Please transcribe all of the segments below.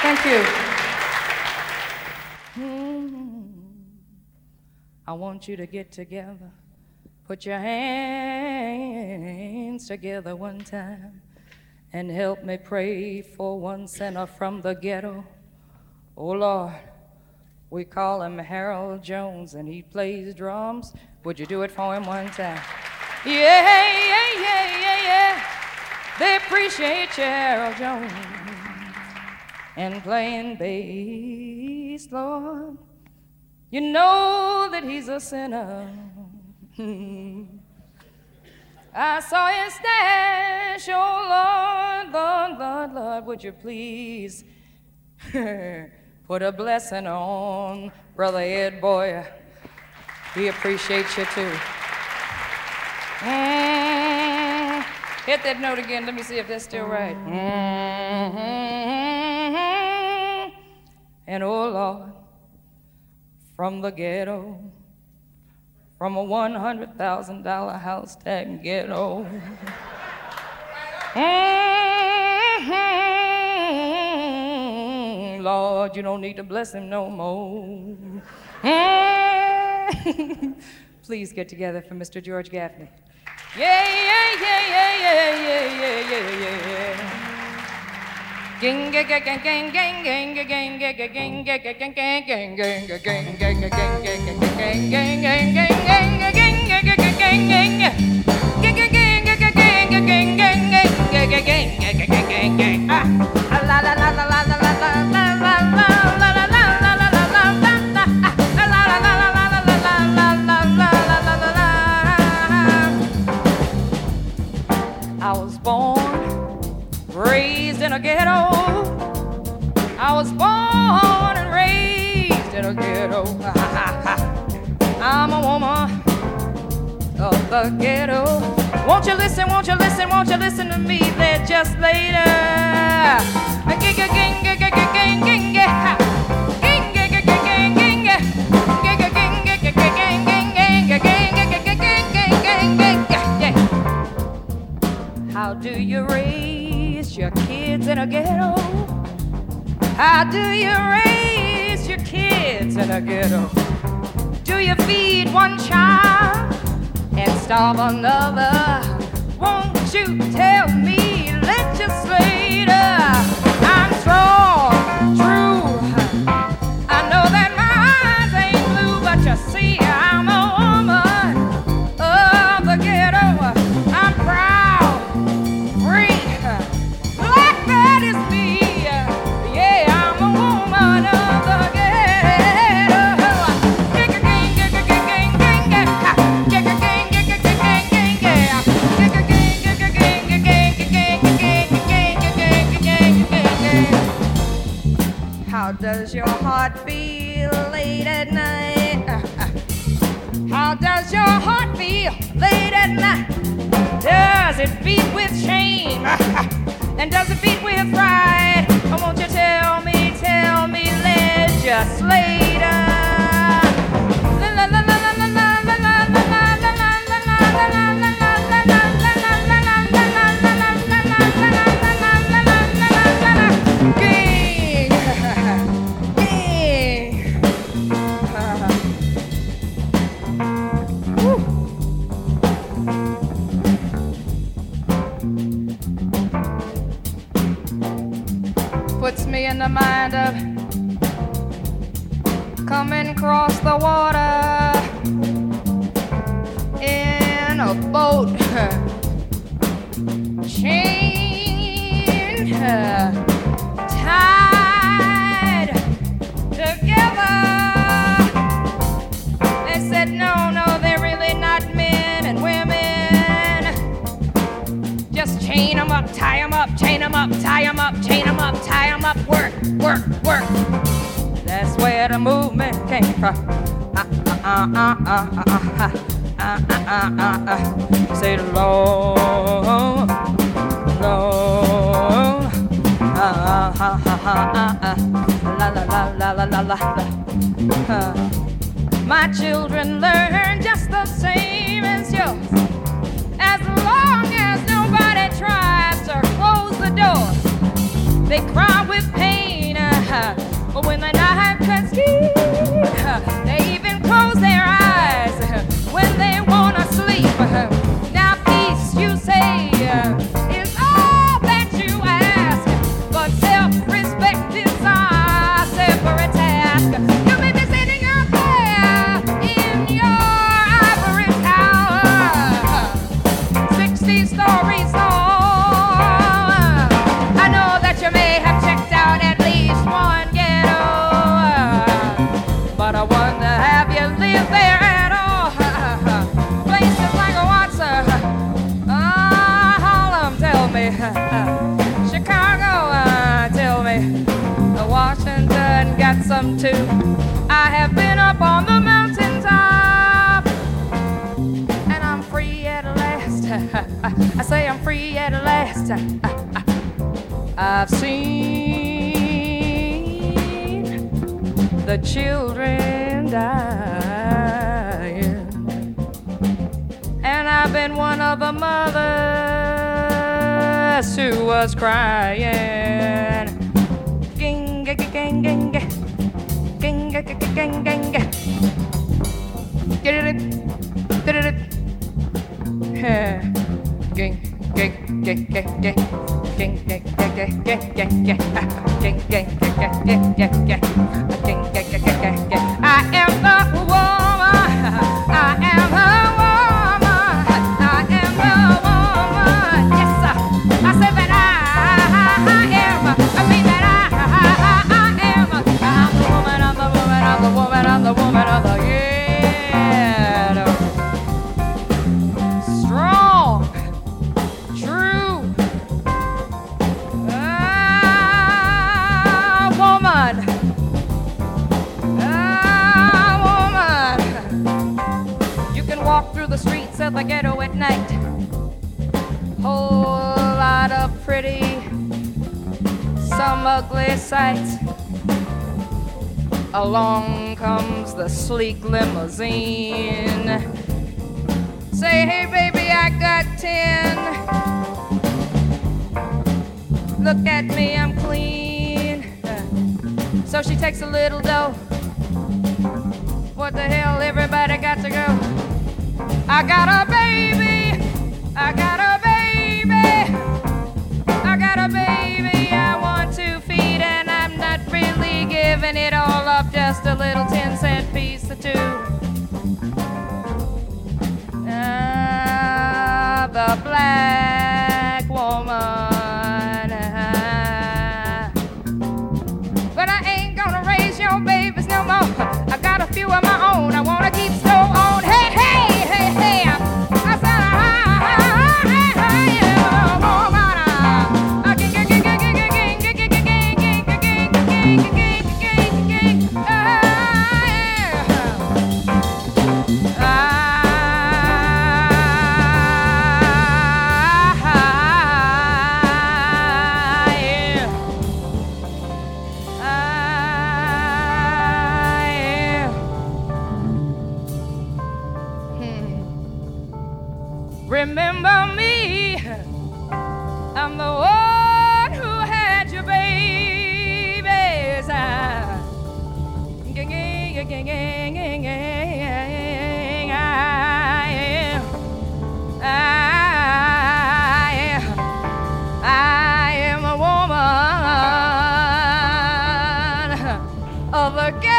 Thank you. I want you to get together. Put your hands together one time and help me pray for one sinner from the ghetto. Oh, Lord, we call him Harold Jones, and he plays drums. Would you do it for him one time? Yeah, yeah, yeah, yeah, yeah. They appreciate you, Harold Jones, and playing bass, Lord. You know that he's a sinner. I saw his stash, oh Lord, Lord, Lord, Lord, would you please put a blessing on Brother Ed Boyer. He appreciates you too. Hit that note again, let me see if that's still right. And oh Lord, from the ghetto, from a $100,000 house tag ghetto. Lord, you don't need to bless him no more. Please get together for Mr. George Gaffney. Yeah, yeah, yeah, yeah, yeah, yeah, yeah, yeah, yeah. Gang, gang, gang, gang, gang, gang, gang, gang, gang, gang, gang, gang, gang, gang, gang, gang, gang, I was born, raised in a ghetto. I was born and raised in a ghetto. I'm a woman of the ghetto. Won't you listen, won't you listen, won't you listen to me there just later? How do you raise your kids in a ghetto? How do you raise your kids in a ghetto? Do you feed one child and starve another? Won't you tell me, legislator? I'm strong, true. I know that my eyes ain't blue, but you see, I'm a woman of the ghetto. I'm proud, free, black, that is me. Yeah, I'm a woman of the How does your heart feel late at night? How does your heart feel late at night? Does it beat with shame? And does it beat with pride? Or won't you tell me, legislator? Puts me in the mind of coming across the water in a boat, chained, tied together. They said, no, they're really not men and women. Just chain them up, tie them up, chain them up, tie them up, chain them up, tie them up, work, work, work. That's where the movement came from. Say the Lord, Lord, la la la la la la la. My children learn just the same as yours. As long as nobody tries to close the door, they cry with pain. yes, you say is all that you ask, but self-respect is our separate task. You may be sitting up there in your ivory tower, 60 stories tall. I know that you may have checked out at least one ghetto, but I wonder, have you lived there at all? Places like Watson, Harlem, tell me, Chicago, tell me, Washington got some too. I have been up on the mountaintop, and I'm free at last. I say I'm free at last. I've seen the children dying, and I've been one of the mothers who was crying. Ging, ging, ging, ging, ging, ging, ging, ging, ging. Get it, get it, ging, ging, ging, ging, ging. I am the woman. I am the woman. I am the woman. Yes, I said that I am. I mean that I am. I'm the woman. I'm the woman. I'm the woman. I'm the woman of the ghetto. Strong, true. Woman. You can walk through the streets of the ghetto at night. Whole lot of pretty, some ugly sights. Along comes the sleek limousine. Say, hey baby, I got 10. Look at me, I'm clean. So she takes a little dough. What the hell, everybody got to go. I got a baby. I got a baby. I got a baby I want to feed, and I'm not really giving it all up. Just a little 10-cent piece or two. The black woman. But I ain't gonna raise your babies no more. I got a few of my own. I wanna keep so on. Hey, hey, hey, hey. I said, remember me, I'm the one who had your babies. I am a woman of the ghetto.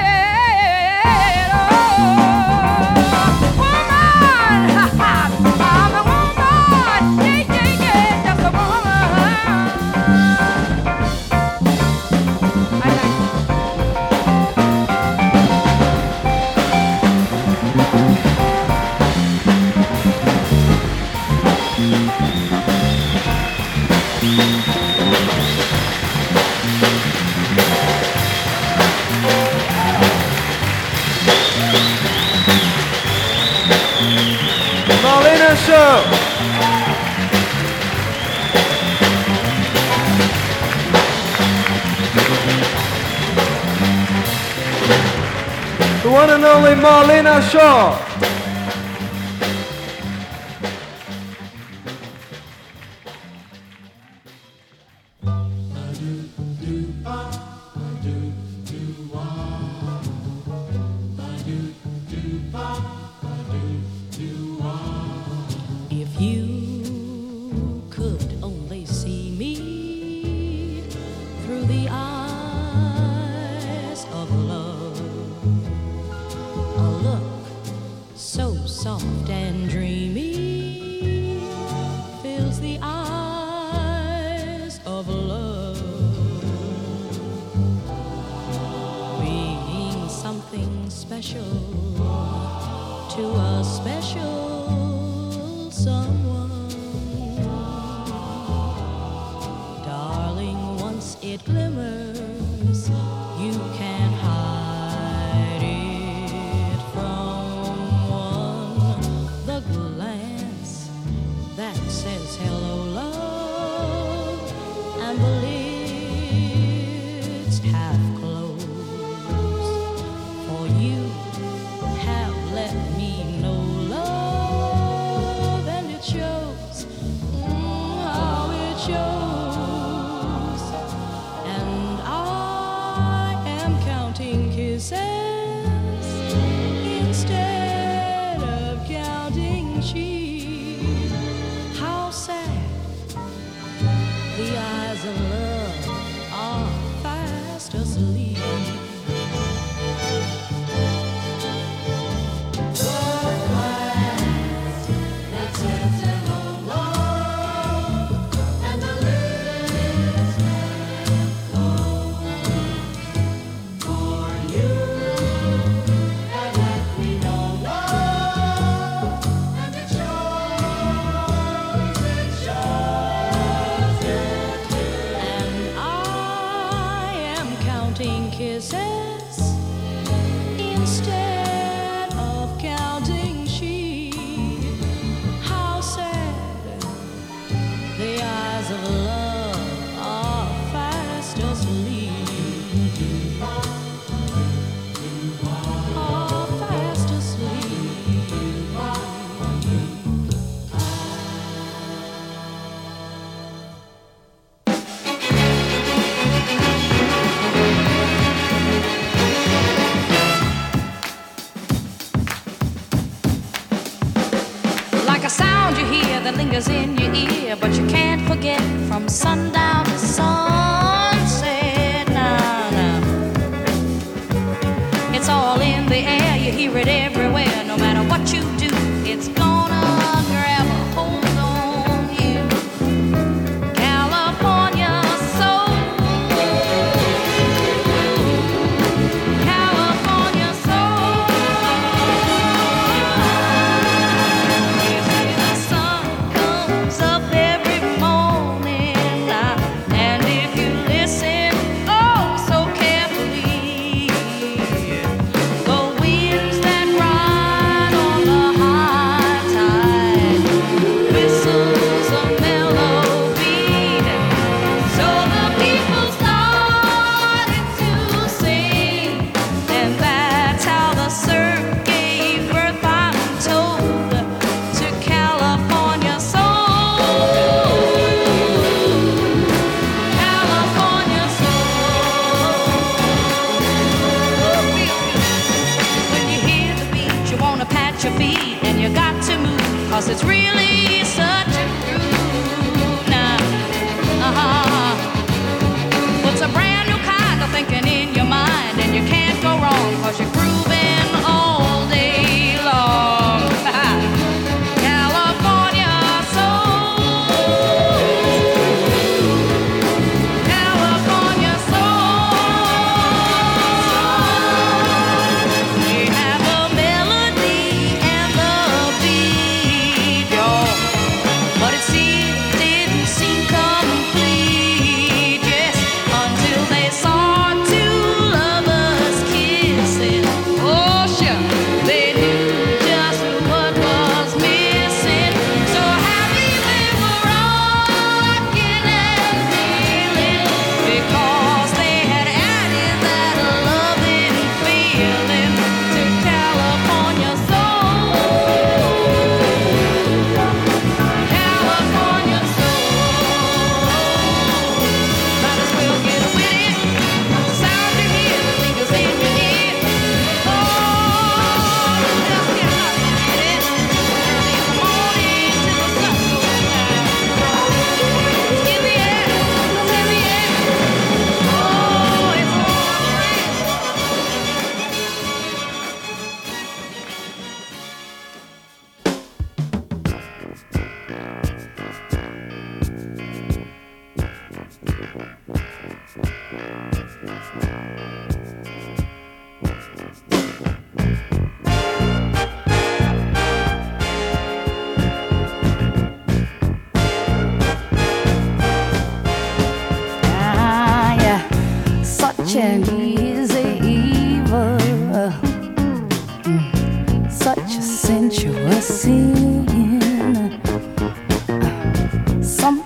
Marlena Show. The one and only Marlena Shaw. If you fills the eyes of love, being something special to a special someone. Darling, once it glimmers, you can't hide it from one. The glance that says hello, love, and the lids half closed. For you have let me know love, and it shows, how it shows. And I am counting kisses instead of counting sheep. How sad the eyes of love are fast asleep. Kisses instead of counting sheep. How sad the eyes of love are fast asleep. Are fast asleep. A sound you hear that lingers in your ear, but you can't forget from sundown to sunset. Nah, nah. It's all in the air, you hear it everywhere. No matter what you do, it's gonna grab a hold on you. California soul, California soul. Up every morning,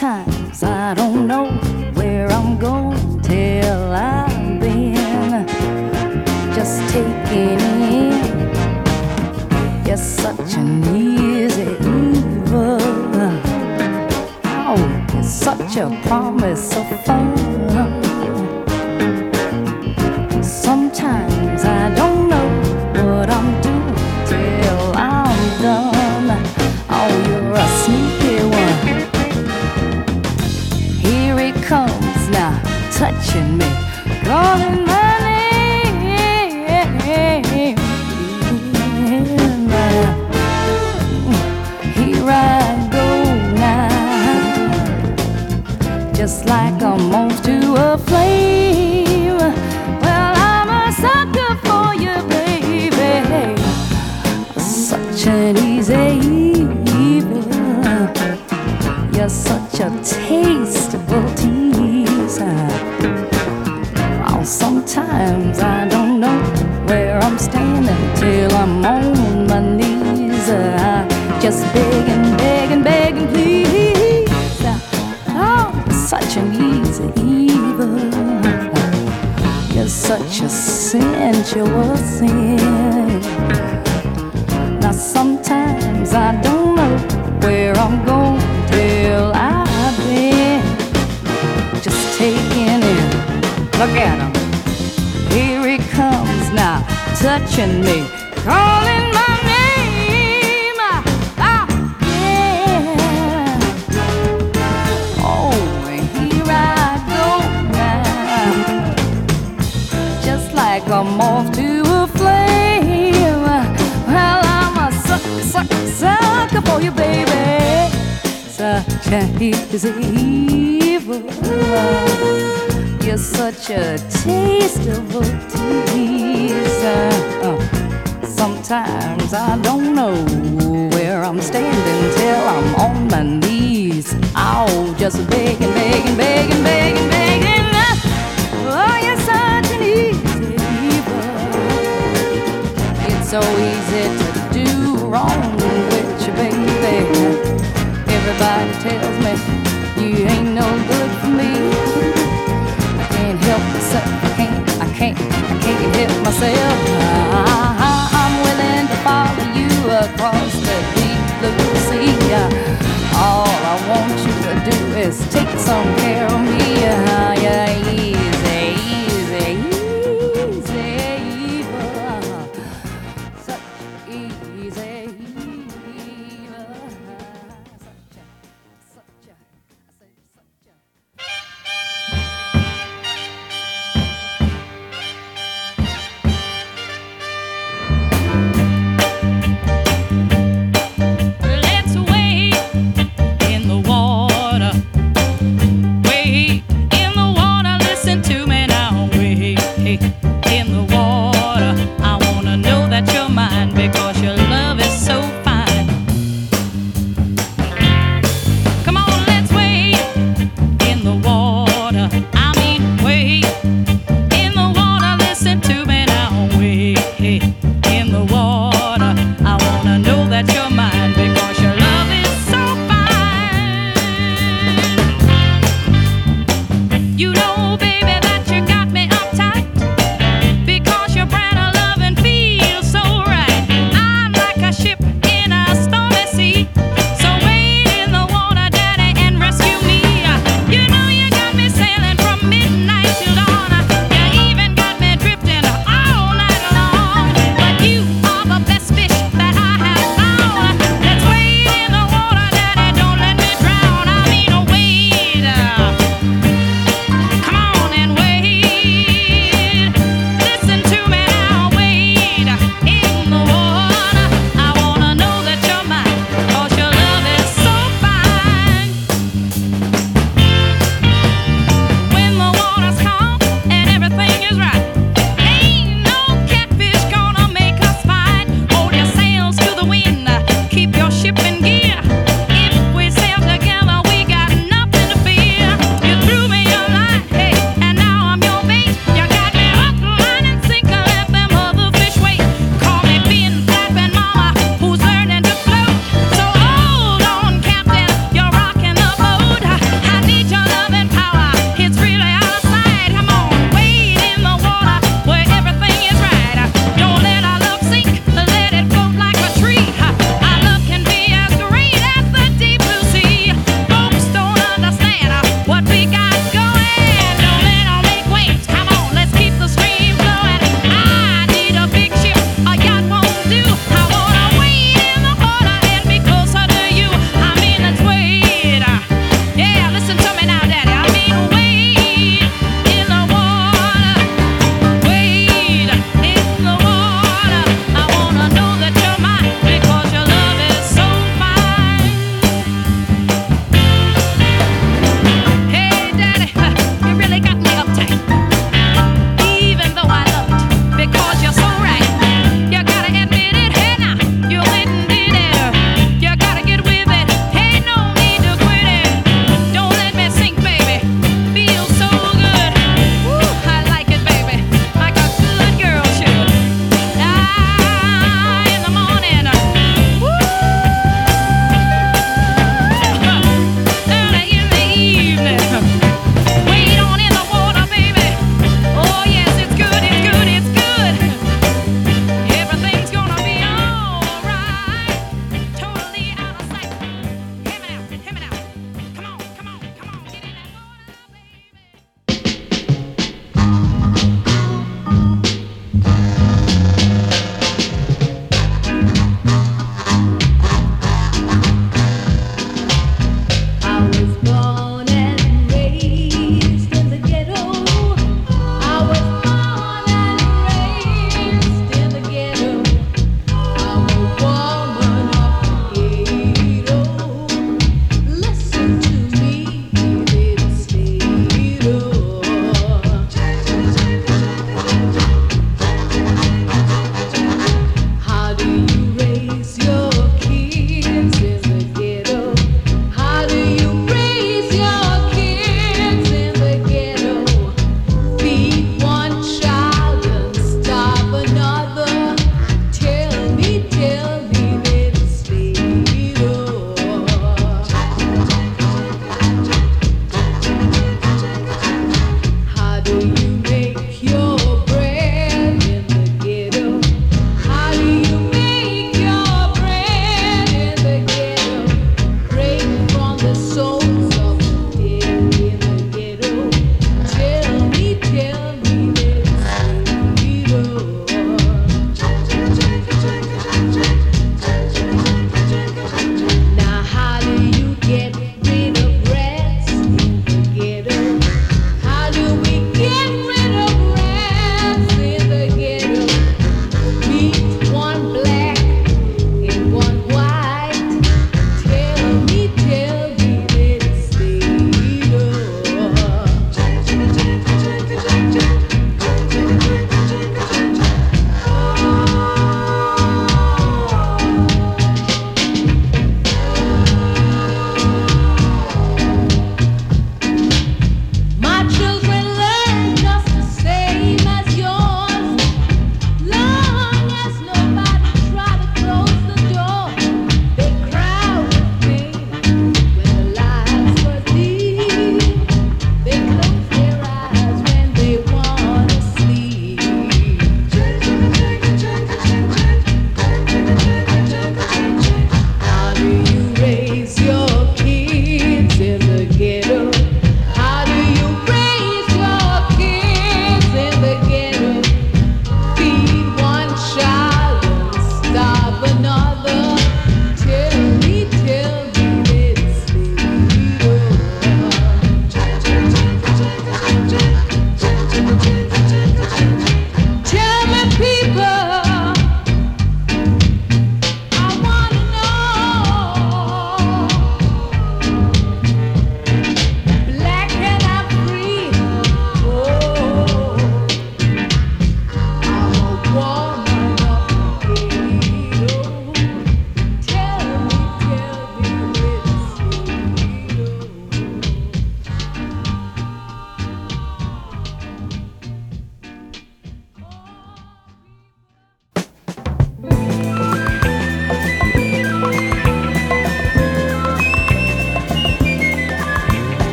Sometimes I don't know where I'm going till I've been just taking in. You're such an easy evil. Oh, you're such a promise of fun. Sometimes I don't know what I'm doing till I'm done. Oh, you're a sneaky one. Here it comes now, touching me, calling my name. Here I go now, just like a moth to a flame. Well, I'm a sucker for you, baby. Such an easy evil. You're such a tasteful teaser. Oh, sometimes I don't know where I'm standing till I'm on my knees. Just begging, begging, begging, please. Oh, such an easy evil. You're such a sensual sin. Now sometimes I don't know where I'm going till I've been just taking in. Look at him. Here he comes now, touching me, calling my name. Ah, yeah. Oh, here I go now, just like a moth to a flame. Well, I'm a sucker for you, baby. Such an easy evil. You're such a tasteful teaser. Sometimes I don't know where I'm standing till I'm on my knees. Oh, just begging, begging, begging, begging, begging. Oh, you're such an easy evil. It's so easy to do wrong with you, baby. Everybody tells me you ain't no good for me. Help myself, I can't help myself. I'm willing to follow you across the deep blue sea. All I want you to do is take some care of me. Yeah, easy, easy, easy, evil. Such easy evil. Such a. Let's wade in the water, wade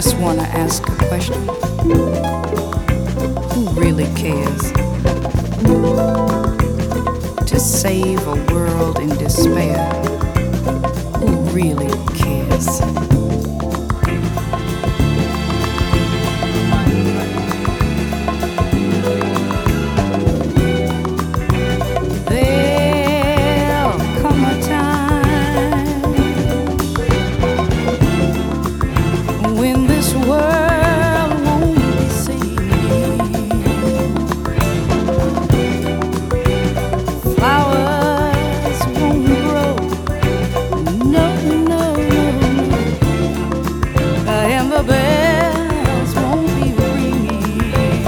just want to ask a question. Who really cares to save a world in despair? Who really cares? There'll come a time when this world won't be seen. Flowers won't grow, no, no, no, and the bells won't be ringing.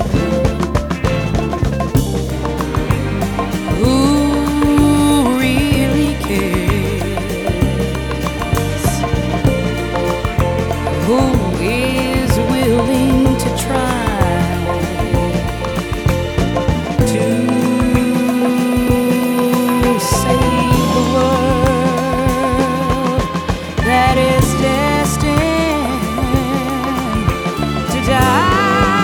Who really cares? Who is willing to try to save the world that is destined to die?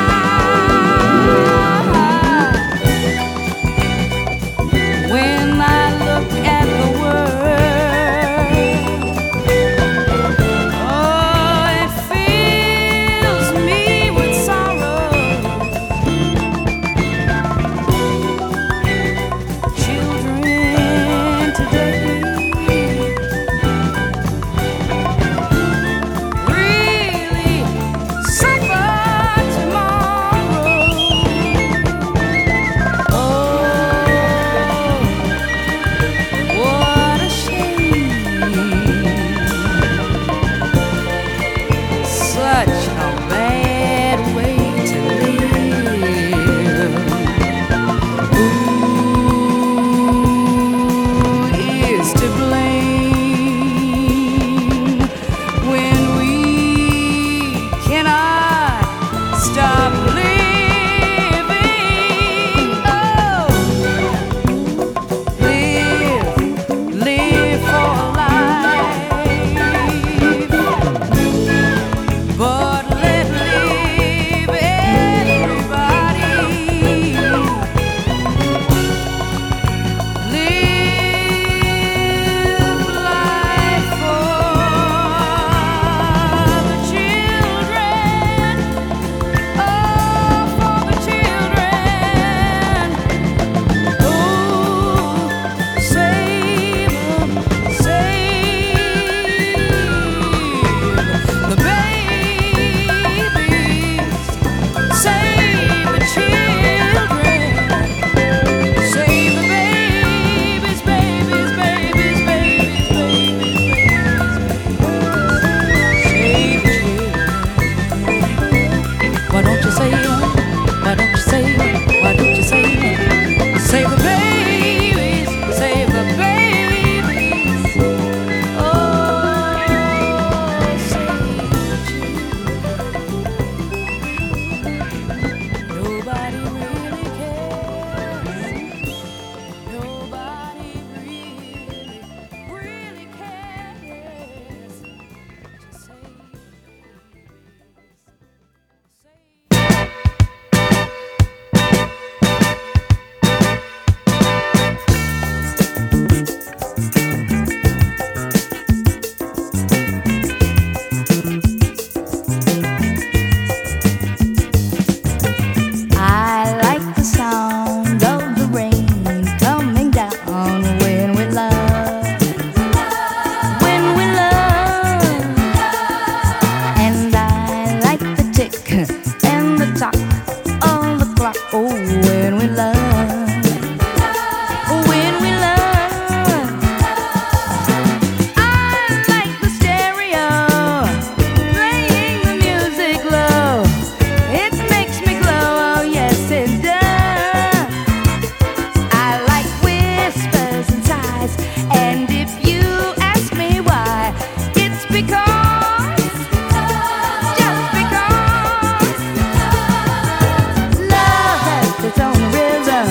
When I look at the world, oh, it fills me with sorrow. Children today really suffer tomorrow. Oh, what a shame. Such a bad way to live. Who is to blame when we cannot stop living? Oh, live for life, but let live everybody. Live life for the children, oh, for the children. Oh, save them, save the babies, save the children, save the babies, babies, babies, babies, babies, save the children. Why don't you save them? Why don't you save them? Why don't you save them? Save the babies, save the babies. Oh, save the children. Nobody really cares. Nobody really cares to save. I like the sound of the rain coming down when we love, when we love. And I like the tick and the tock of the clock. Oh, when we love, when we love. I like the stereo playing the music low. It makes me glow, oh yes it does. I like whispers and sighs, and if you ask me why, it's because, just because, love has its own rhythm.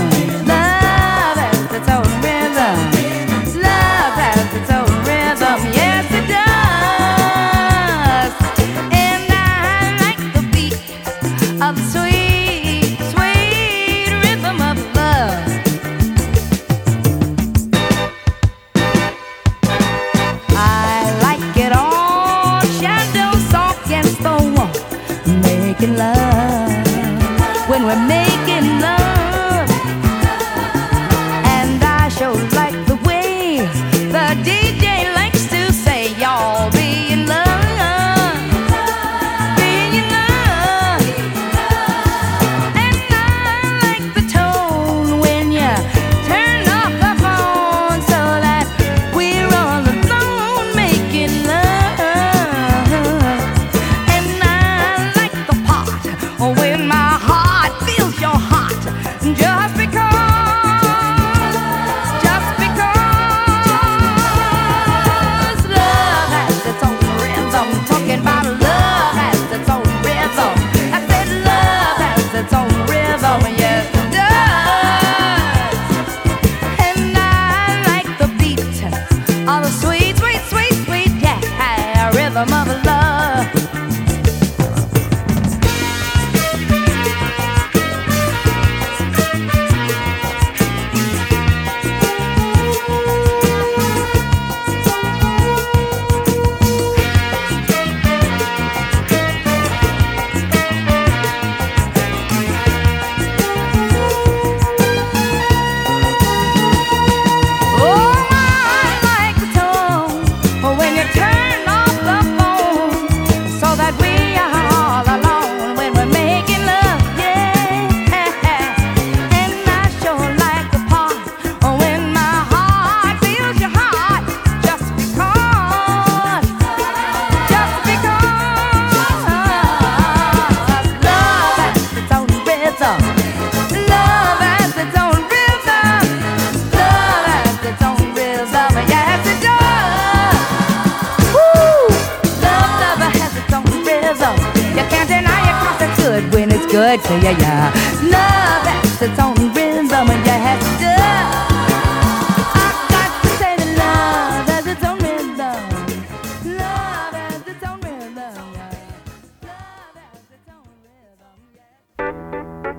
sex, yeah, yeah. Love has its own rhythm, and you have to. I got to say that love has its own rhythm. Love has its own rhythm, yeah. Love has its own rhythm, yeah.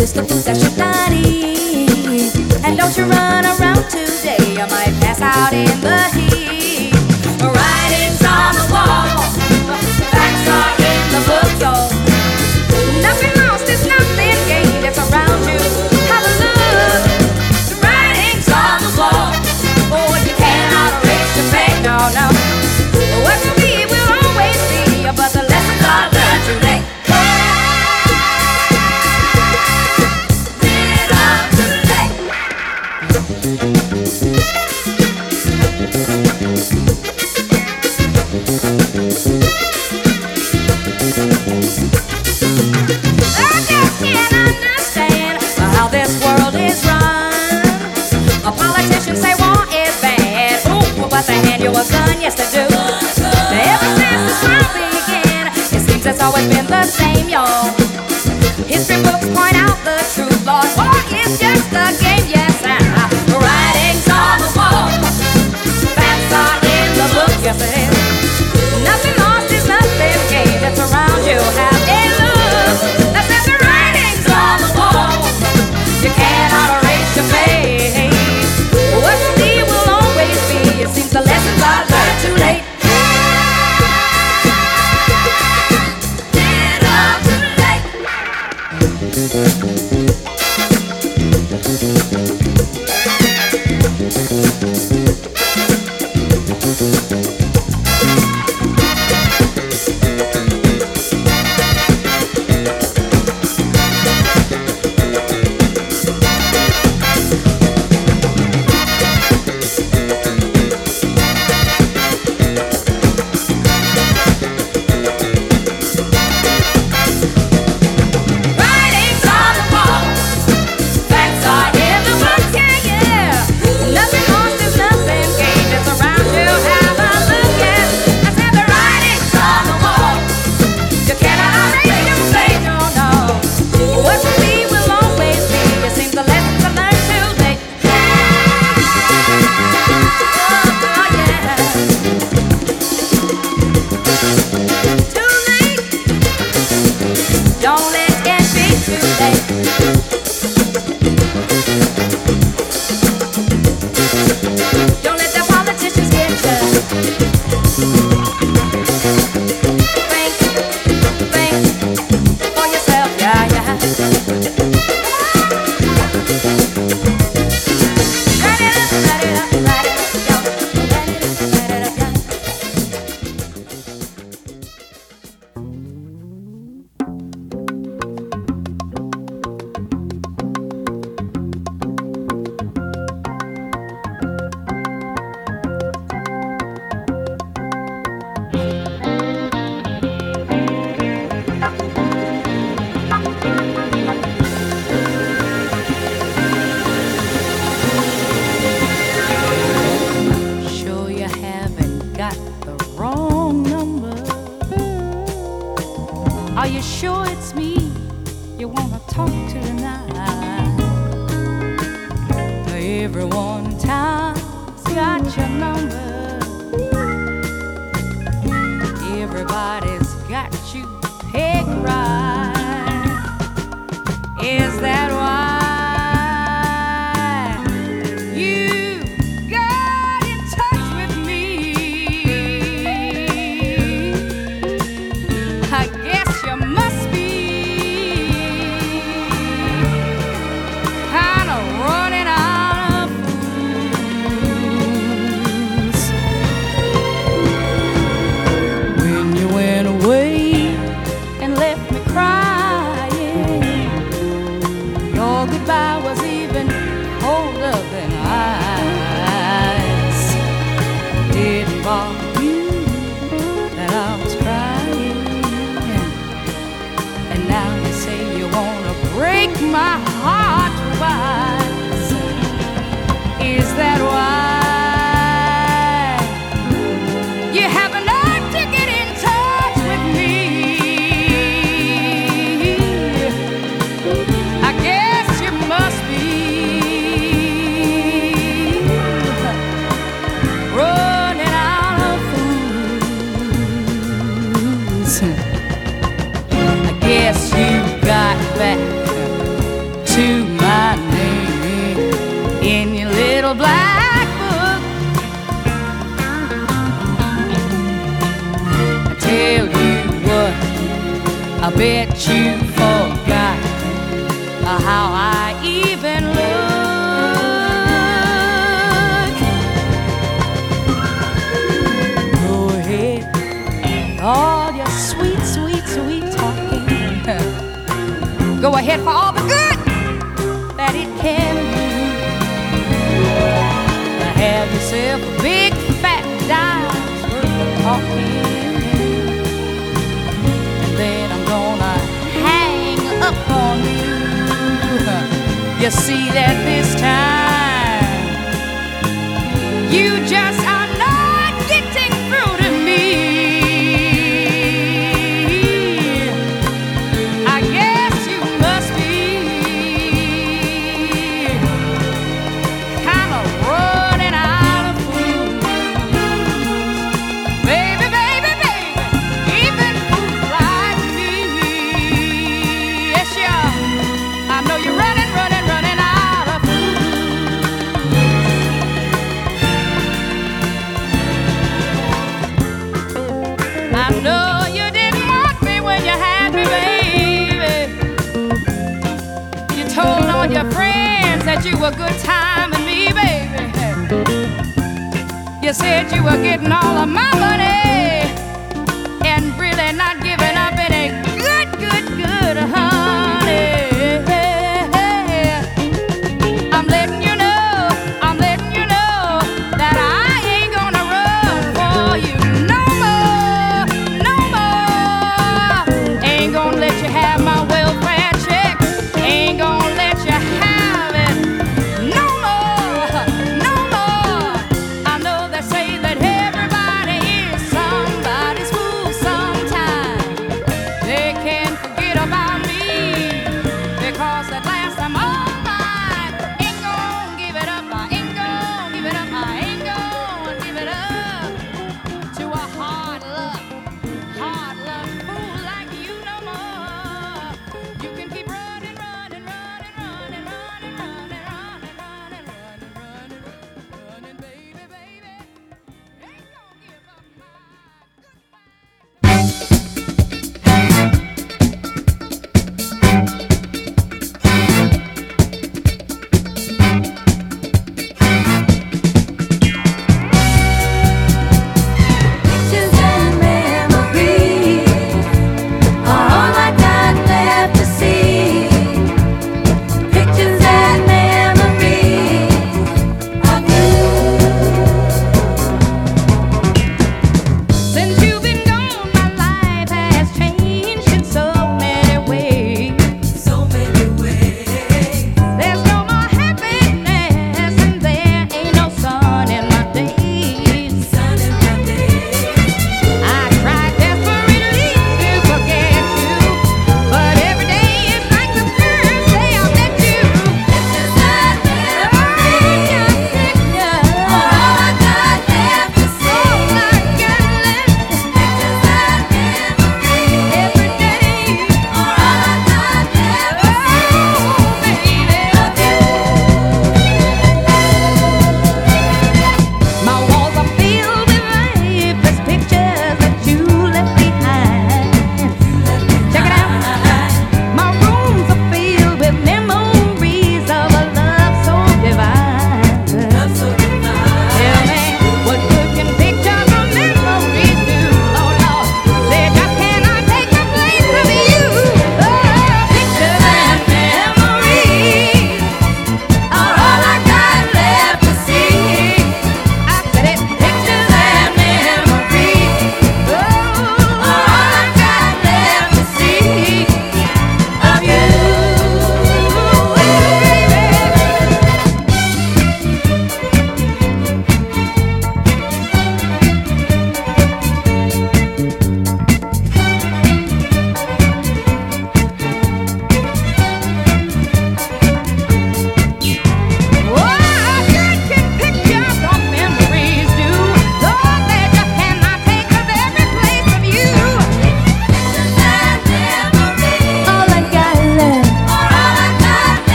list of foods I should not eat. And don't you run around today, I might pass out in the heat. Writings on the wall, facts are in the book, y'all. Nothing lost is nothing gained, it's around you. Have a look. The writings on the wall, oh, you cannot erase your fate, no, no. What will be will always be, but the lessons are learned too late. I just can't understand how this world is run. Politicians say war is bad, ooh, but they hand you a gun, yes they do. Ever since this world began, it seems it's always been the same, y'all. History books point out the truth, Lord, war is just a game, yes, and writings on the wall, facts are in the book, yes it is. Nothing lost is nothing gained, it's around you, have a look. That's at the writings on the wall, you cannot erase your face. What will be will always be, it seems the lessons are learned too late. Are you sure it's me you wanna talk to tonight? Everyone in town's got your number. Everybody's got you pegged right. Is that why you got in touch with me? I guess you must be kind of running out of fools. When you went away and left me crying, your goodbye was even colder than ice. Didn't bother you that I was crying, and now you say you wanna break my heart twice. Is that why you have the nerve to get in touch with me? I guess you must be running out of fools. I guess you got back to my name in your little black book. I tell you what, I bet you forgot how I even look. Go ahead, all your sweet, sweet, sweet talking. Go ahead for all the good that it can do. Have yourself a big fat dime's worth of talking, and then I'm gonna hang up on you. You see that this time you just are not getting through to me. I guess you must be kind of running out of food. Baby, baby, baby, even fools like me. Yes, you are. I know you're running, running, running out of food. I know you didn't want me when you had me, baby. You told all your friends that you were good timing me, baby. You said you were getting all of my money and really not giving up any good, good, good honey. I'm letting you know, I'm letting you know that I ain't gonna run for you no more, no more. Ain't gonna let you have my welfare check. Ain't gonna let you have it no more, no more. I know they say that everybody is somebody's fool sometime. They can't forget about me because at last I'm all mine. Ain't gonna give it up, I ain't gonna give it up, I ain't gonna give it up to a hard luck fool like you no more. You can keep running, running, running, running, running, running, running, running, running, running, running, baby, baby. Ain't gonna give up my goodbye.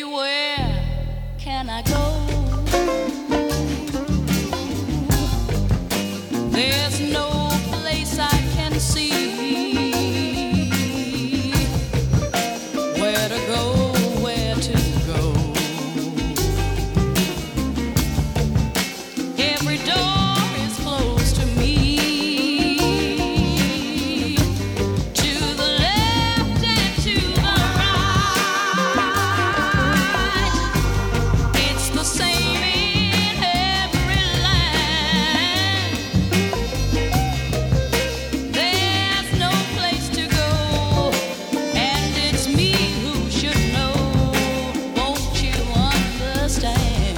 where can I go? There's no place I can see where to go, where to go. Every door is closed to me. To the left and to the right, it's the same in every land. There's no place to go, and it's me who should know. Won't you understand?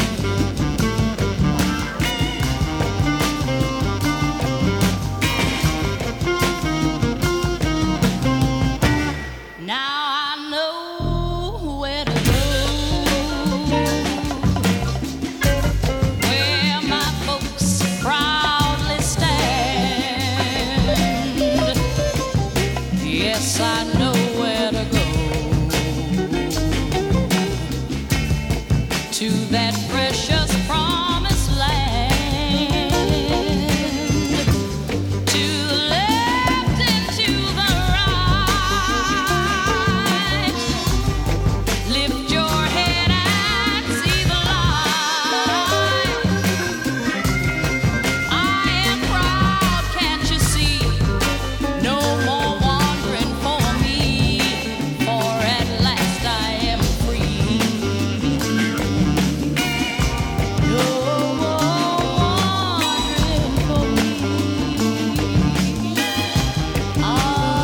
Now I know where to go, where my folks proudly stand. Yes, I know where to go, to that precious promised land. To the left and to the right, lift your head and see the light. I am proud, can't you see? No more wandering for me, for at last I am free. No more wandering for me. I am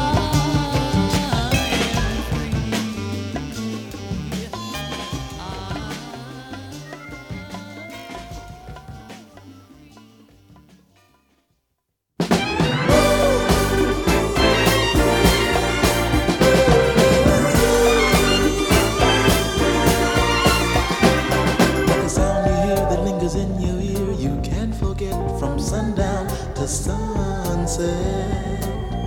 The sound you hear that lingers in your ear, you can't forget from sundown to sunset.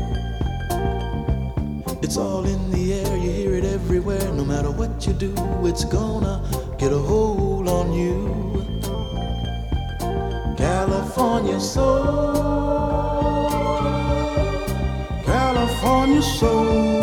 It's all in the air, you hear it everywhere. No matter what you do, it's gonna get a hold on you. California soul, California soul.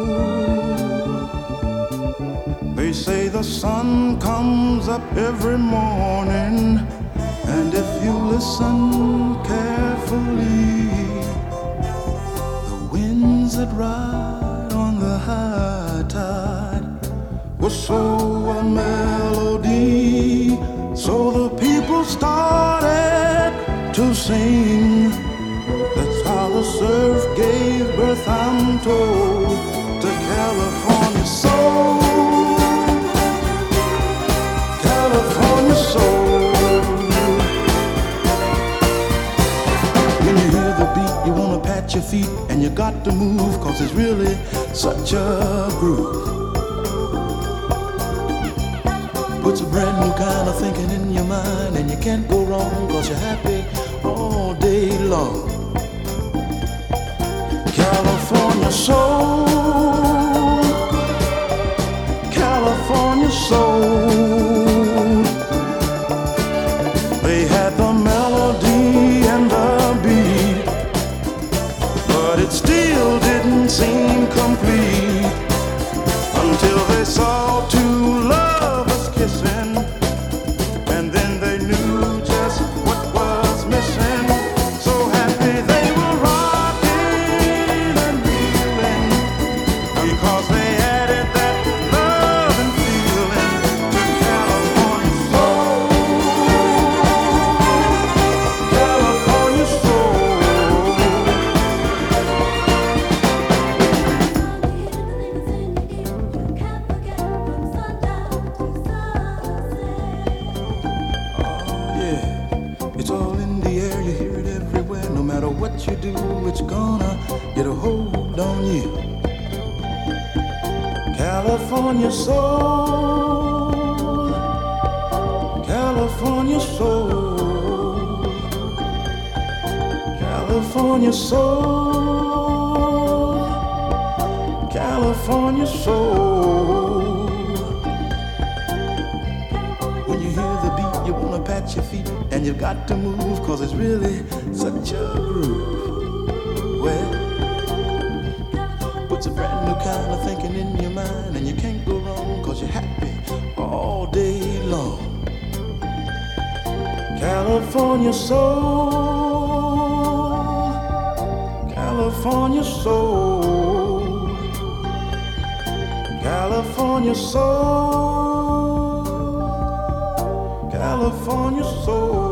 They say the sun comes up every morning, and if you listen carefully, the winds that ride on the high tide whistle a melody. So the people started to sing. That's how the surf gave birth, I'm told, to California soul. California soul. When you hear the beat, you wanna pat your feet, and you got to move, cause it's really such a groove. Puts a brand new kind of thinking in your mind, and you can't go wrong, cause you're happy all day long. California soul, California soul. They had the melody and the beat, but it still didn't seem complete until they saw two lovers kissing, and then they knew just what was missing. So happy they were rocking and reeling, because they added that love and feeling to California soul. California soul. Yeah, it's all in the air, you hear it everywhere. No matter what you do, it's gonna get a hold on you. California soul, California soul, California soul, California soul, at your feet, and you've got to move, cause it's really such a groove. Well, puts a brand new kind of thinking in your mind, and you can't go wrong, cause you're happy all day long. California soul, California soul, California soul, California soul.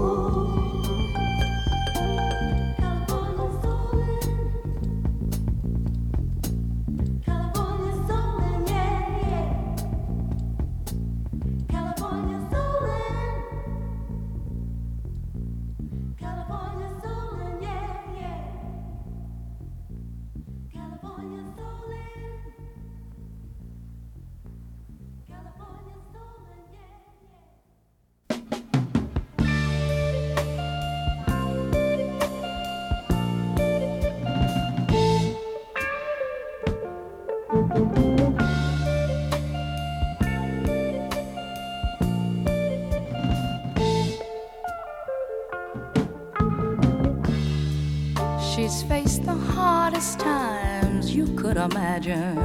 She's faced the hardest times you could imagine,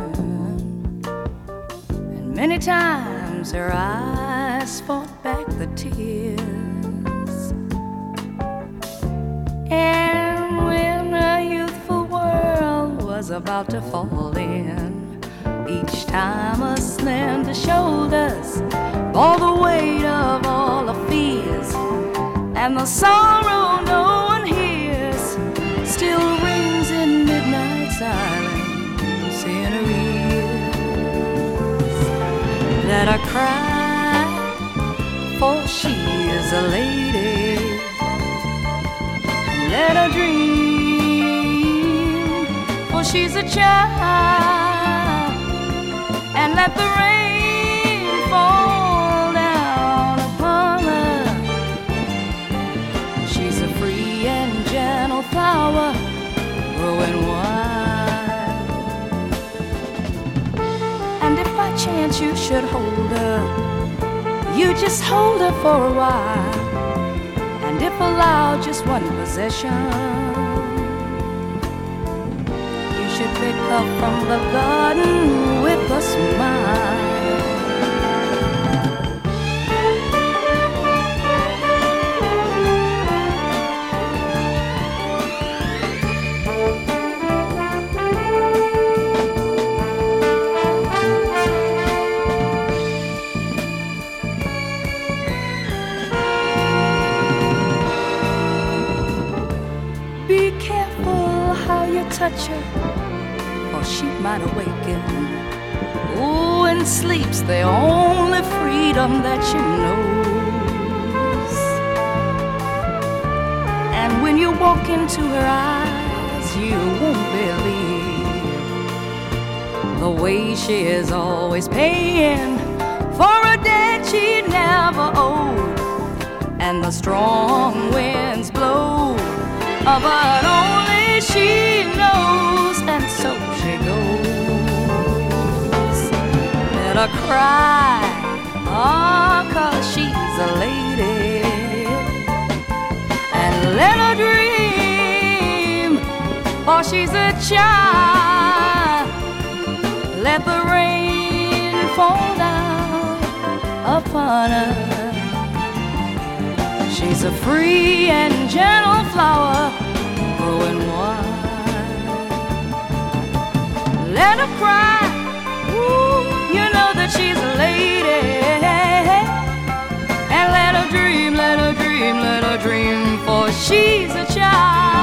and many times her eyes fought back the tears. And when a youthful world was about to fall in, each time her slender shoulders bore the weight of all the fears, and the sorrow no one hears still rings in midnight silence in her ears. Let her cry, for she is a lady. Let her dream, for she's a child. And let the rain fall down upon her. She's a free and gentle flower growing wild. And if by chance you should hold her, you just hold her for a while. And if allowed just one possession, you should pick her from the garden with a smile. Touch her, or she might awaken. Oh, and sleep's the only freedom that she knows. And when you walk into her eyes, you won't believe the way she is always paying for a debt she never owed. And the strong winds blow, but only she knows, and so she goes. Let her cry, oh, 'cause she's a lady. And let her dream, for she's a child. Let the rain fall down upon her. She's a free and gentle flower growing wild. Let her cry, ooh, you know that she's a lady. And let her dream, let her dream, let her dream, for she's a child.